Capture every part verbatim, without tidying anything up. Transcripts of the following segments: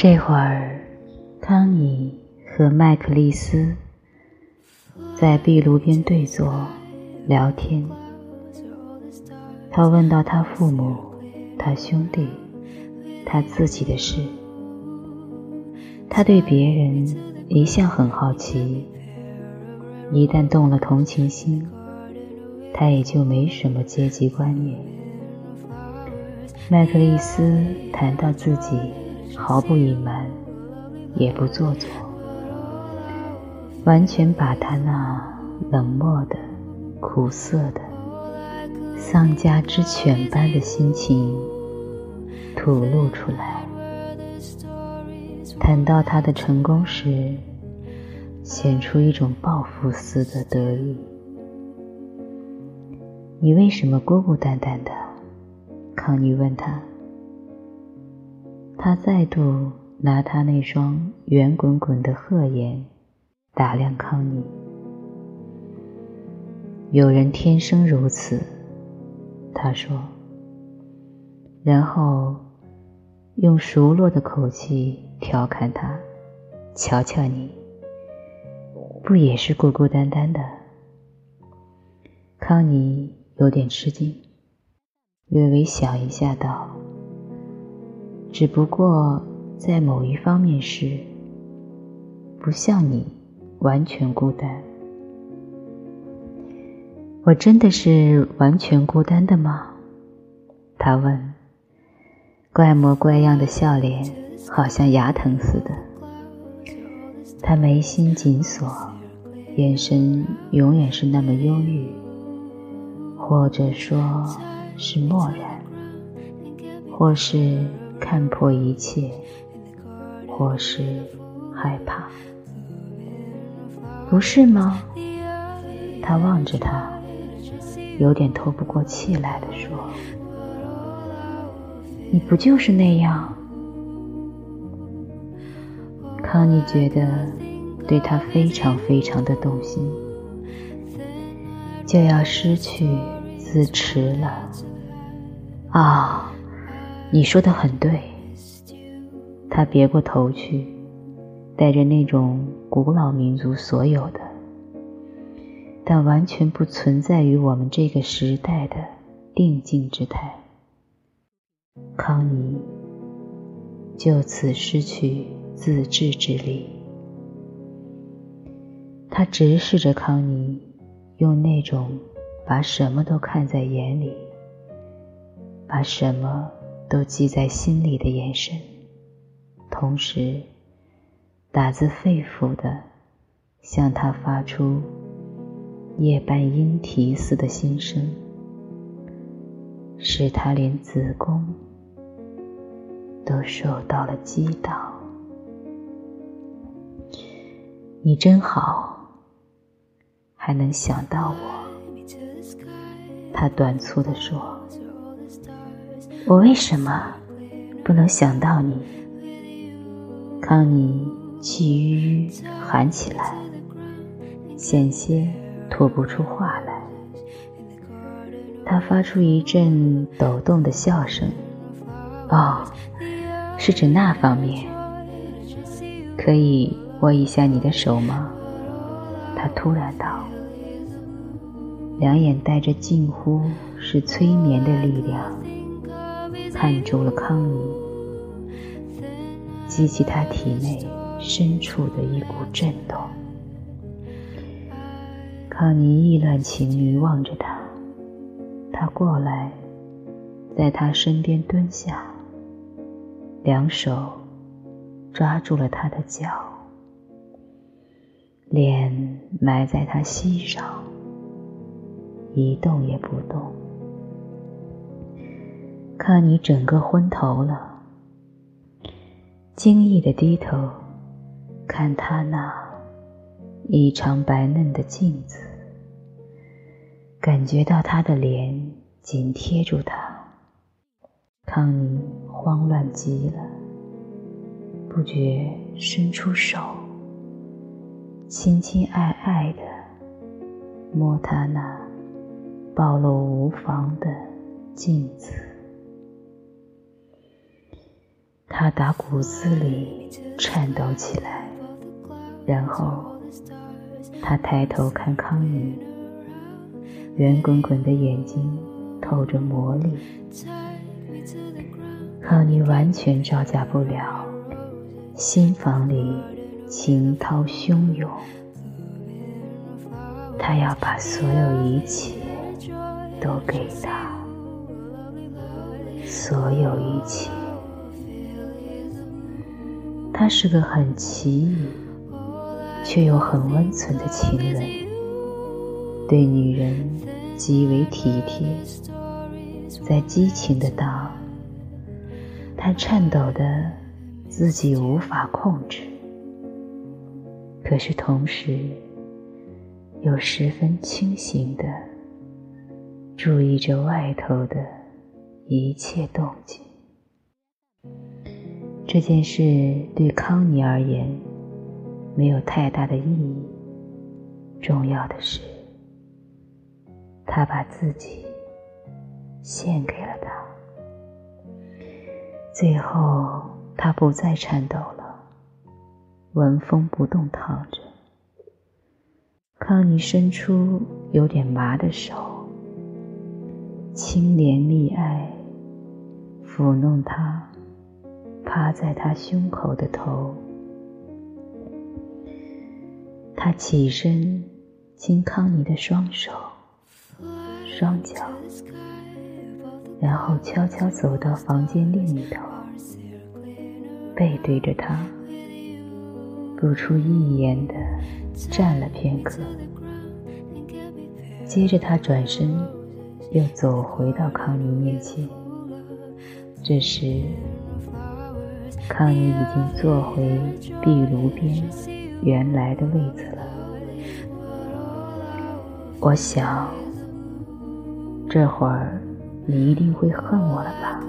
这会儿，康妮和麦克利斯在壁炉边对坐聊天。他问到他父母、他兄弟、他自己的事。他对别人一向很好奇，一旦动了同情心，他也就没什么阶级观念。麦克利斯谈到自己毫不隐瞒，也不做作，完全把他那冷漠的、苦涩的、丧家之犬般的心情吐露出来。谈到他的成功时，显出一种报复似的得意。你为什么孤孤单单的？康妮问他。他再度拿他那双圆滚滚的鹤眼打量康妮。有人天生如此，他说，然后用熟络的口气调侃他，瞧瞧你，不也是孤孤单单的？康妮有点吃惊，略微想一下道，只不过在某一方面是不像你完全孤单。我真的是完全孤单的吗？他问，怪模怪样的笑脸好像牙疼似的。他眉心紧锁，眼神永远是那么忧郁，或者说是漠然，或是看破一切，或是害怕。不是吗？他望着他，有点透不过气来地说，你不就是那样？康妮觉得对他非常非常的动心，就要失去自持了。啊，你说得很对。他别过头去，带着那种古老民族所有的，但完全不存在于我们这个时代的定静之态。康妮就此失去自制之力。他直视着康妮，用那种把什么都看在眼里，把什么都记在心里的眼神，同时打自肺腑地向他发出夜半莺啼似的心声，使他连子宫都受到了击倒。你真好，还能想到我。他短促地说，我为什么不能想到你？康妮气吁吁喊起来，险些吐不出话来。他发出一阵抖动的笑声。哦，是指那方面。可以握一下你的手吗？他突然道，两眼带着近乎是催眠的力量看住了康妮，激起他体内深处的一股震动。康妮意乱情迷望着他，他过来在他身边蹲下，两手抓住了他的脚，脸埋在他膝上，一动也不动。康妮整个昏头了，惊异地低头看他那异常白嫩的镜子，感觉到他的脸紧贴住他。康妮慌乱极了，不觉伸出手，亲亲爱爱地摸他那暴露无妨的镜子。 他打骨子里颤抖起来，然后他抬头看康妮，圆滚滚的眼睛透着魔力。康妮完全招架不了，心房里情涛汹涌，他要把所有一切都给他，所有一切。他是个很奇异却又很温存的情人，对女人极为体贴。在激情的当，他颤抖得自己无法控制，可是同时又十分清醒地注意着外头的一切动静。这件事对康妮而言没有太大的意义，重要的是他把自己献给了他。最后他不再颤抖了，纹风不动躺着。康妮伸出有点麻的手，轻怜蜜爱，抚弄他趴在他胸口的头。他起身亲康妮的双手双脚，然后悄悄走到房间另一头，背对着他，不出一言地站了片刻。接着他转身又走回到康妮面前。这时康妮已经坐回壁炉边原来的位子了。我想这会儿你一定会恨我了吧？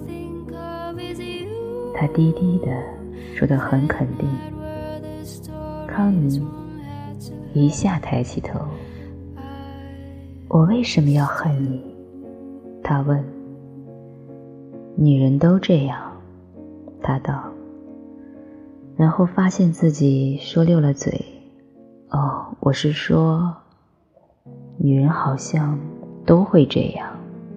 他低低地说得很肯定。康妮一下抬起头。我为什么要恨你？他问。女人都这样，他道，然后发现自己说溜了嘴。哦，我是说，女人好像都会这样。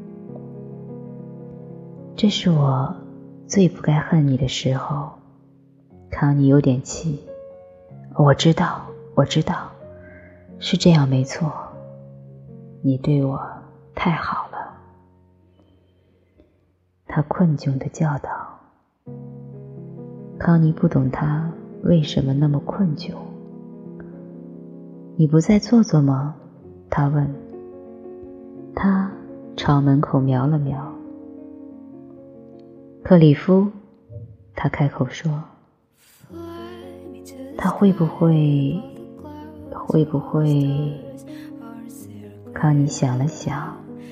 这是我最不该恨你的时候。康妮有点气。我知道，我知道，是这样没错。你对我太好了。他困窘地叫道。康妮不懂他为什么那么困窘。你不再坐坐吗？他问。他朝门口瞄了瞄。克里夫，他开口说。他会不会会不会康妮想了想。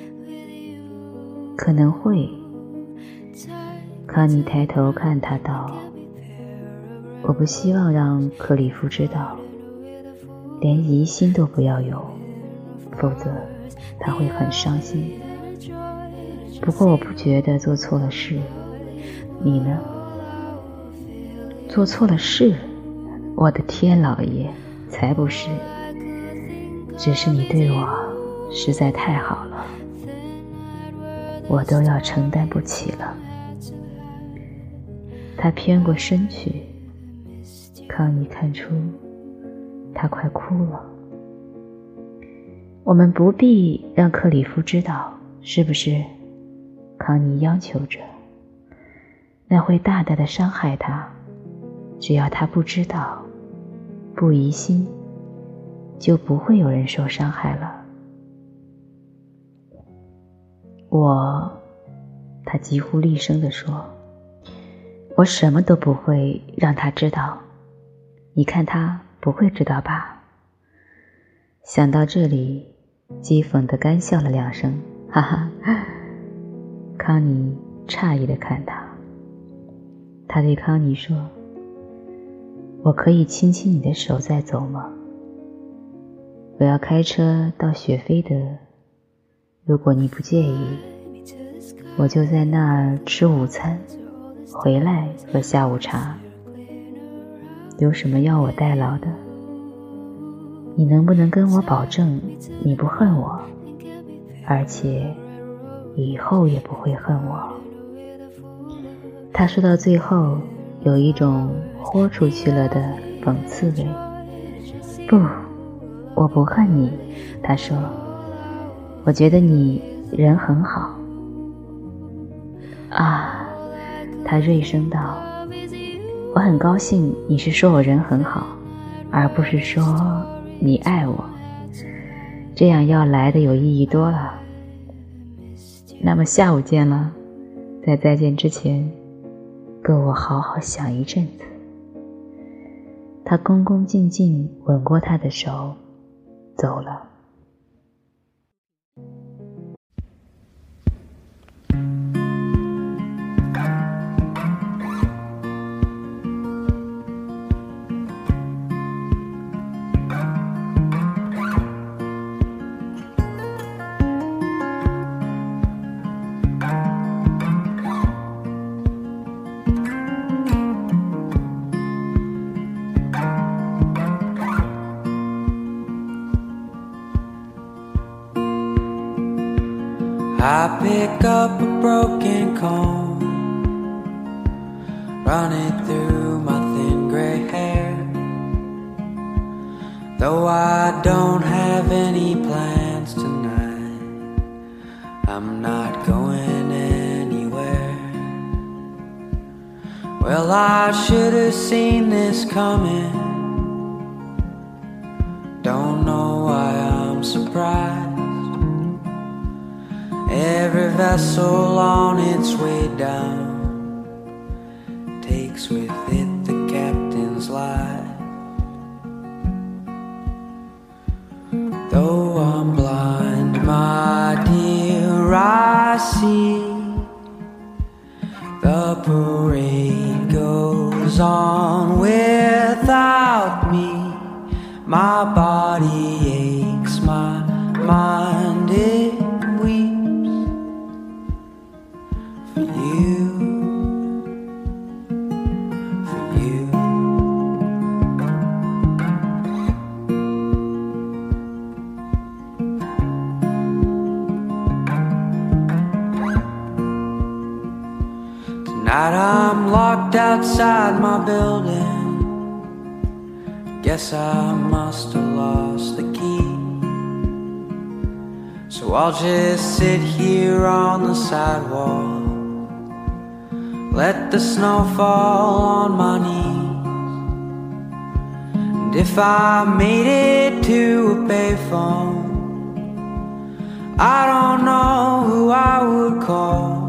可能会。康妮抬头看他道，我不希望让克里夫知道，连疑心都不要有，否则他会很伤心。不过我不觉得做错了事，你呢？做错了事？我的天老爷，才不是，只是你对我实在太好了，我都要承担不起了。他偏过身去，康妮看出他快哭了。我们不必让克里夫知道，是不是？康妮央求着。那会大大的伤害他，只要他不知道，不疑心，就不会有人受伤害了。我，他几乎厉声地说，我什么都不会让他知道。你看他不会知道吧？想到这里，讥讽地干笑了两声，哈哈。康妮诧异地看他。他对康妮说，我可以亲亲你的手再走吗？我要开车到雪菲德，如果你不介意，我就在那儿吃午餐， 回来喝下午茶。有什么要我代劳的？你能不能跟我保证你不恨我，而且以后也不会恨我？他说到最后有一种豁出去了的讽刺味。不，我不恨你，他说，我觉得你人很好。啊，他锐声道，我很高兴你是说我人很好，而不是说你爱我，这样要来的有意义多了。那么下午见了，在再见之前够我好好想一阵子。他恭恭敬敬吻过她的手，走了。 I pick up a broken comb, run it through my thin gray hair. Though I don't have any plans tonight, I'm not going anywhere. Well, I should have seen this coming. Don't know why I'm surprised. Every vessel on its way down takes with it the captain's life. Though I'm blind, my dear, I see the parade goes on without me. My body aches, my mind it weeps. For you, for you. Tonight I'm locked outside my building. Guess I must have lost the key. So I'll just sit here on the sidewalk, let the snow fall on my knees. And if I made it to a payphone, I don't know who I would call.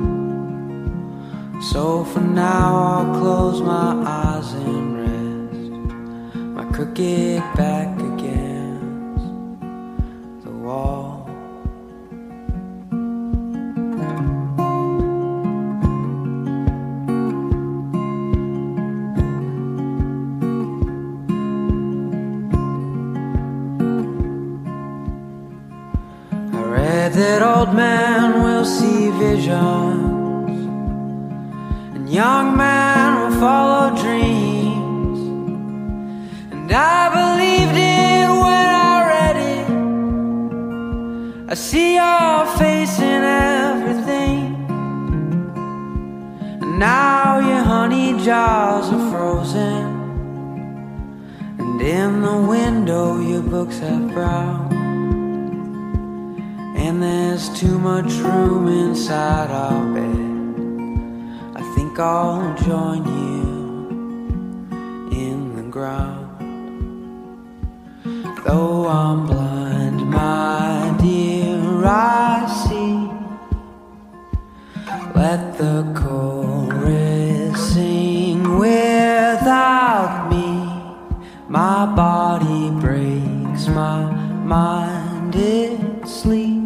So for now I'll close my eyes and rest my crooked back against the wall. That old man will see visions, and young men will follow dreams. And I believed it when I read it. I see your face in everything. And now your honey jars are frozen, and in the window your books have brown. And there's too much room inside our bed. I think I'll join you in the ground. Though I'm blind, my dear, I see. Let the chorus sing without me. My body breaks, my mind it sleeps.